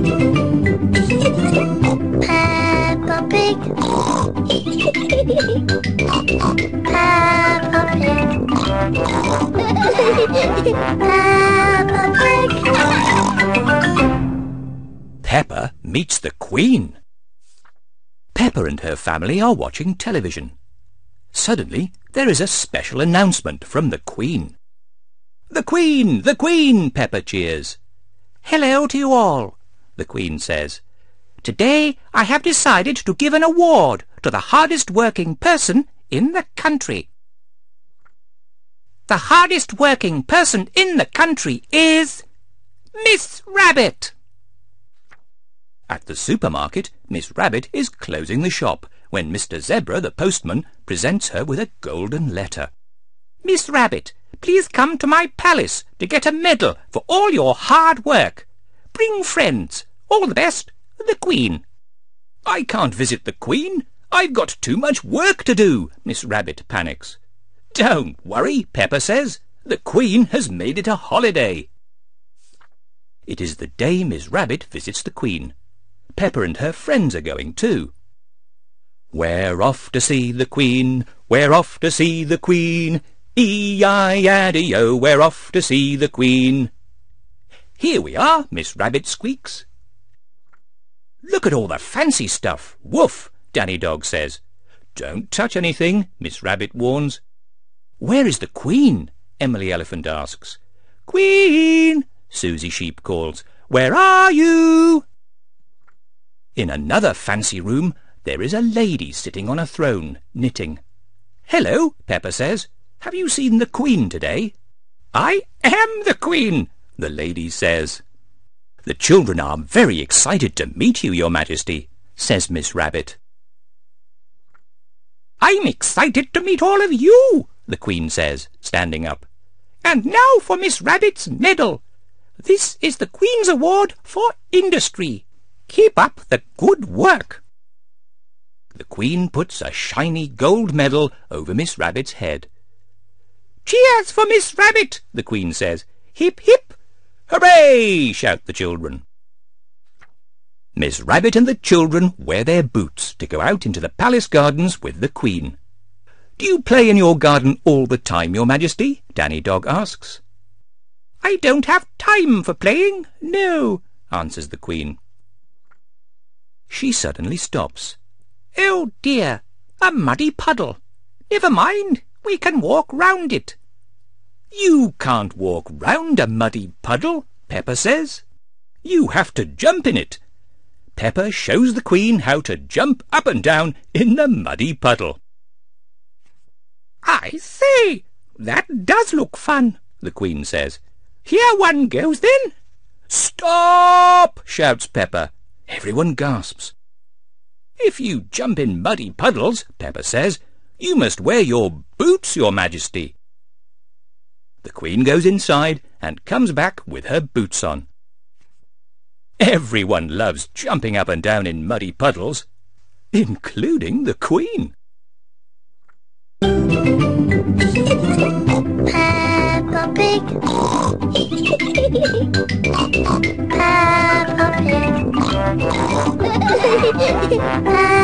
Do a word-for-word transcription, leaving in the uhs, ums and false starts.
Peppa Pig. Peppa Pig. Peppa Pig. Peppa meets the Queen. Peppa and her family are watching television. Suddenly, there is a special announcement from the Queen. "The Queen! The Queen!" Peppa cheers. "Hello to you all," the Queen says. "Today I have decided to give an award to the hardest working person in the country. The hardest working person in the country is Miss Rabbit." At the supermarket, Miss Rabbit is closing the shop when Mister Zebra, the postman, presents her with a golden letter. "Miss Rabbit, please come to my palace to get a medal for all your hard work. Bring friends. All the best, the Queen." "I can't visit the Queen. I've got too much work to do," Miss Rabbit panics. "Don't worry," Peppa says. "The Queen has made it a holiday." It is the day Miss Rabbit visits the Queen. Peppa and her friends are going too. "We're off to see the Queen, we're off to see the Queen, E I A D O, we're off to see the Queen." "Here we are," Miss Rabbit squeaks. "Look at all the fancy stuff. Woof," Danny Dog says. "Don't touch anything," Miss Rabbit warns. "Where is the Queen?" Emily Elephant asks. "Queen," Susie Sheep calls. "Where are you?" In another fancy room, there is a lady sitting on a throne, knitting. "Hello," Peppa says. "Have you seen the Queen today?" "I am the Queen," the lady says. "The children are very excited to meet you, Your Majesty," says Miss Rabbit. "I'm excited to meet all of you," the Queen says, standing up. "And now for Miss Rabbit's medal. This is the Queen's Award for Industry. Keep up the good work." The Queen puts a shiny gold medal over Miss Rabbit's head. "Cheers for Miss Rabbit," the Queen says. "Hip, hip." "Hooray!" shout the children. Miss Rabbit and the children wear their boots to go out into the palace gardens with the Queen. "Do you play in your garden all the time, Your Majesty?" Danny Dog asks. "I don't have time for playing, no," answers the Queen. She suddenly stops. "Oh dear, a muddy puddle. Never mind, we can walk round it." "You can't walk round a muddy puddle," Peppa says. "You have to jump in it." Peppa shows the Queen how to jump up and down in the muddy puddle. "I say, that does look fun," the Queen says. "Here one goes then." "Stop!" shouts Peppa. Everyone gasps. "If you jump in muddy puddles," Peppa says, "you must wear your boots, Your Majesty." The Queen goes inside and comes back with her boots on. Everyone loves jumping up and down in muddy puddles, including the Queen. Peppa Pig. Peppa Pig. Peppa